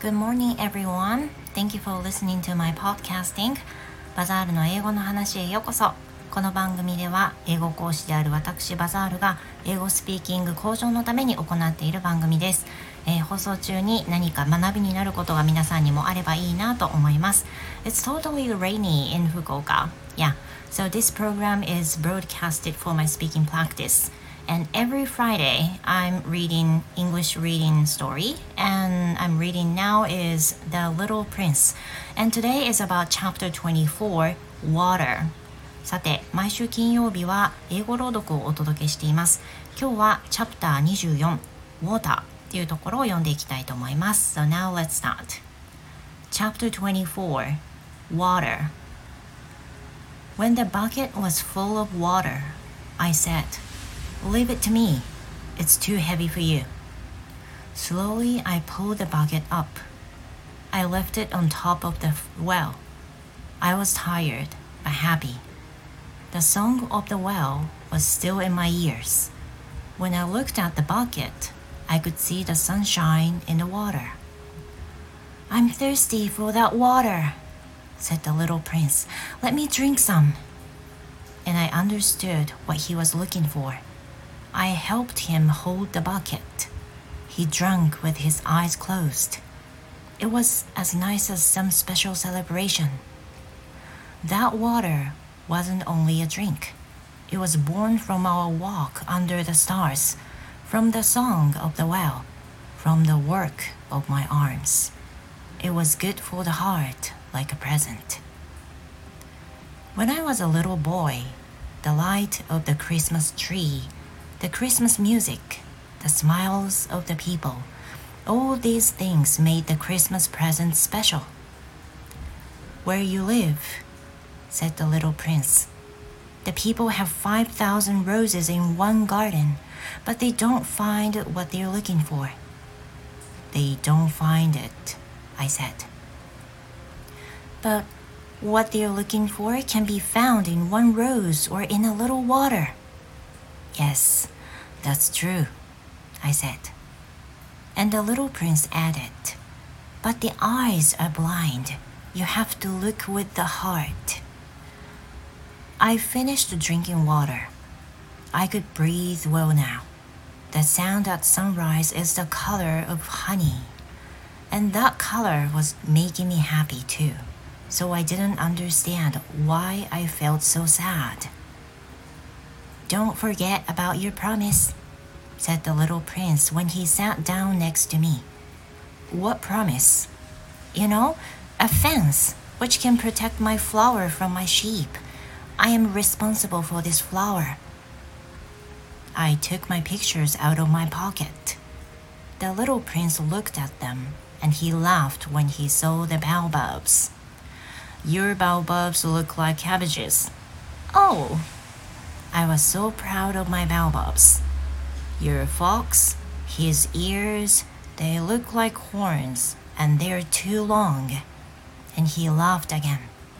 Good morning, everyone. Thank you for listening to my podcasting. バザールの英語の話へようこそ。この番組では英語講師である私バザールが英語スピーキング向上のために行っている番組です。放送中に何か学びになることが皆さんにもあればいいなと思います。It's totally rainy in Fukuoka. Yeah, so this program is broadcasted for my speaking practice.And every Friday, I'm reading English reading story, and I'm reading now is The Little Prince. And today is about chapter 24, Water. さて、毎週金曜日は英語朗読をお届けしています。今日はチャプター24、Water っていうところを読んでいきたいと思います。So now let's start. Chapter 24, Water. When the bucket was full of water, I said,Leave it to me. It's too heavy for you. Slowly, I pulled the bucket up. I left it on top of the well. I was tired, but happy. The song of the well was still in my ears. When I looked at the bucket, I could see the sunshine in the water. I'm thirsty for that water, said the little prince. Let me drink some. And I understood what he was looking for.I helped him hold the bucket. He drank with his eyes closed. It was as nice as some special celebration. That water wasn't only a drink. It was born from our walk under the stars, from the song of the well, from the work of my arms. It was good for the heart, like a present. When I was a little boy, the light of the Christmas tree,The Christmas music, the smiles of the people, all these things made the Christmas present special. Where you live, said the little prince, the people have 5,000 roses in one garden, but they don't find what they're looking for. They don't find it, I said. But what they're looking for can be found in one rose or in a little water.Yes, that's true, I said. And the little prince added, But the eyes are blind. You have to look with the heart. I finished drinking water. I could breathe well now. The sound at sunrise is the color of honey. And that color was making me happy too. So I didn't understand why I felt so sad.Don't forget about your promise, said the little prince when he sat down next to me. What promise? You know, a fence which can protect my flower from my sheep. I am responsible for this flower. I took my pictures out of my pocket. The little prince looked at them, and he laughed when he saw the baobabs. Your baobabs look like cabbages. Oh!I was so proud of my baobabs. Your fox, his ears, they look like horns, and they're too long. And he laughed again.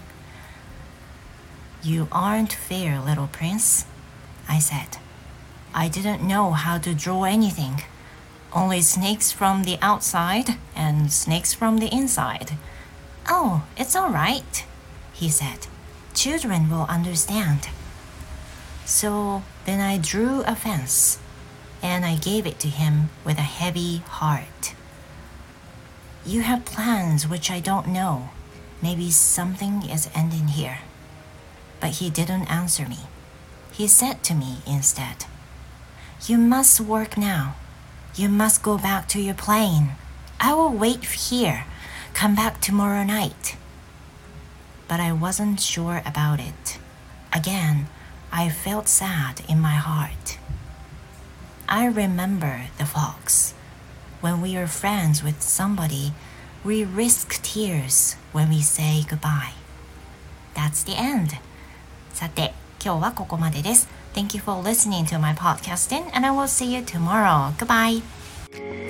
You aren't fair, little prince, I said. I didn't know how to draw anything. Only snakes from the outside and snakes from the inside. Oh, it's all right, he said. Children will understand.So then I drew a fence, and I gave it to him with a heavy heart. You have plans which I don't know. Maybe something is ending here. But he didn't answer me. He said to me instead, You must work now. You must go back to your plane. I will wait here. Come back tomorrow night. But I wasn't sure about it. Again,I felt sad in my heart. I remember the fox. When we are friends with somebody, we risk tears when we say goodbye. That's the end. さて、今日はここまでです。Thank you for listening to my podcasting, and I will see you tomorrow. Goodbye.